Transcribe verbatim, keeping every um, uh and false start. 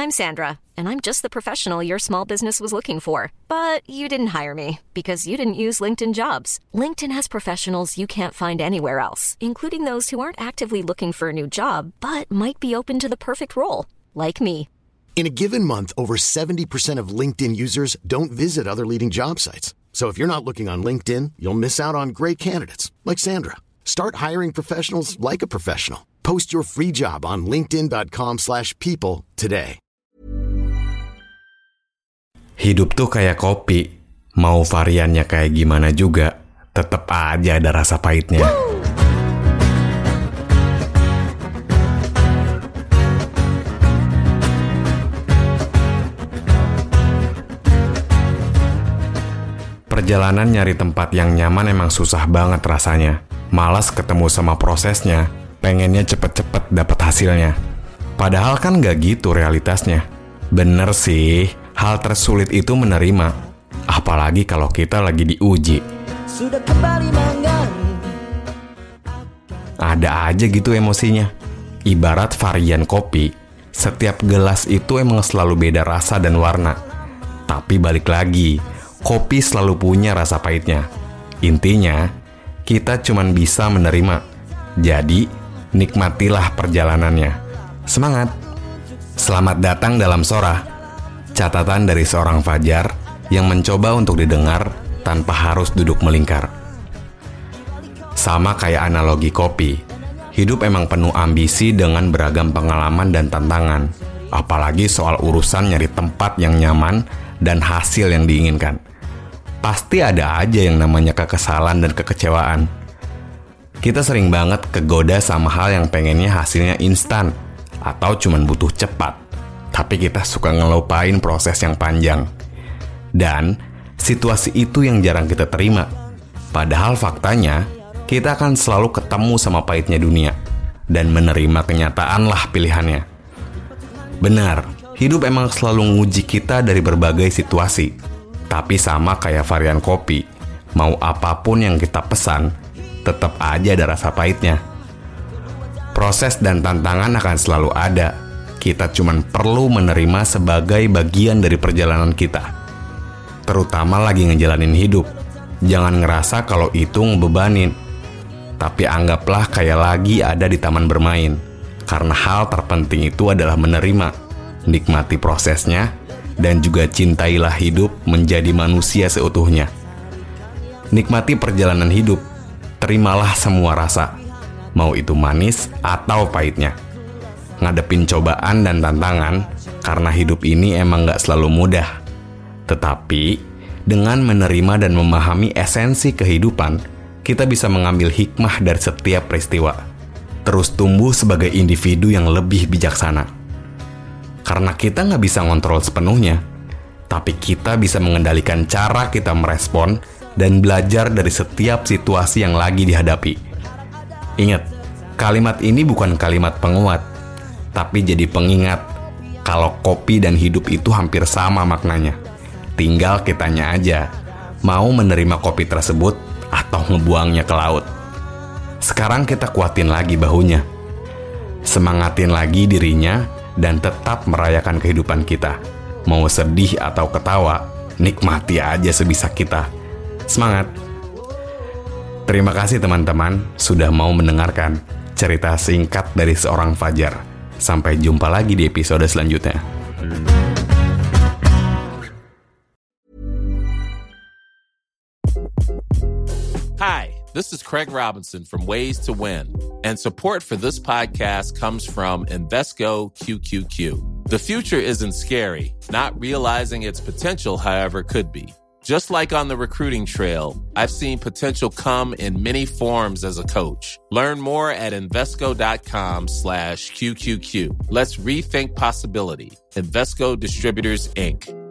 I'm Sandra, and I'm just the professional your small business was looking for. But you didn't hire me because you didn't use LinkedIn Jobs. LinkedIn has professionals you can't find anywhere else, including those who aren't actively looking for a new job, but might be open to the perfect role, like me. In a given month, over seventy percent of LinkedIn users don't visit other leading job sites. So if you're not looking on LinkedIn, you'll miss out on great candidates, like Sandra. Start hiring professionals like a professional. Post your free job on linkedin.com slash people today. Hidup tuh kayak kopi. Mau variannya kayak gimana juga, tetep aja ada rasa pahitnya. Perjalanan nyari tempat yang nyaman emang susah banget rasanya. Malas ketemu sama prosesnya, pengennya cepet-cepet dapet hasilnya. Padahal kan gak gitu realitasnya. Bener sih, hal tersulit itu menerima. Apalagi kalau kita lagi diuji. Sudah kembali menggali. Ada aja gitu emosinya. Ibarat varian kopi, setiap gelas itu emang selalu beda rasa dan warna. Tapi balik lagi, kopi selalu punya rasa pahitnya. Intinya, kita cuman bisa menerima. Jadi, nikmatilah perjalanannya. Semangat! Selamat datang dalam Sora. Catatan dari seorang Fajar yang mencoba untuk didengar tanpa harus duduk melingkar. Sama kayak analogi kopi, hidup emang penuh ambisi dengan beragam pengalaman dan tantangan. Apalagi soal urusan nyari tempat yang nyaman dan hasil yang diinginkan. Pasti ada aja yang namanya kekesalan dan kekecewaan. Kita sering banget kegoda sama hal yang pengennya hasilnya instan atau cuman butuh cepat. Tapi kita suka ngelupain proses yang panjang. Dan situasi itu yang jarang kita terima. Padahal faktanya, kita akan selalu ketemu sama pahitnya dunia dan menerima kenyataan lah pilihannya. Benar, hidup emang selalu nguji kita dari berbagai situasi. Tapi sama kayak varian kopi, mau apapun yang kita pesan, tetap aja ada rasa pahitnya. Proses dan tantangan akan selalu ada. Kita cuman perlu menerima sebagai bagian dari perjalanan kita. Terutama lagi ngejalanin hidup. Jangan ngerasa kalau itu ngebebanin. Tapi anggaplah kayak lagi ada di taman bermain. Karena hal terpenting itu adalah menerima, nikmati prosesnya, dan juga cintailah hidup menjadi manusia seutuhnya. Nikmati perjalanan hidup, terimalah semua rasa, mau itu manis atau pahitnya. Ngadepin cobaan dan tantangan, karena hidup ini emang gak selalu mudah. Tetapi, dengan menerima dan memahami esensi kehidupan, kita bisa mengambil hikmah dari setiap peristiwa. Terus tumbuh sebagai individu yang lebih bijaksana. Karena kita nggak bisa ngontrol sepenuhnya, tapi kita bisa mengendalikan cara kita merespon dan belajar dari setiap situasi yang lagi dihadapi. Ingat, kalimat ini bukan kalimat penguat, tapi jadi pengingat kalau kopi dan hidup itu hampir sama maknanya. Tinggal kitanya aja, mau menerima kopi tersebut atau ngebuangnya ke laut. Sekarang kita kuatin lagi bahunya, semangatin lagi dirinya, dan tetap merayakan kehidupan kita. Mau sedih atau ketawa, nikmati aja sebisa kita. Semangat! Terima kasih teman-teman sudah mau mendengarkan cerita singkat dari seorang Fajar. Sampai jumpa lagi di episode selanjutnya. Hi, this is Craig Robinson from Ways to Win, and support for this podcast comes from Invesco Q Q Q. The future isn't scary. Not realizing its potential, however, could be. Just like on the recruiting trail, I've seen potential come in many forms as a coach. Learn more at Invesco.com slash QQQ. Let's rethink possibility. Invesco Distributors, Incorporated.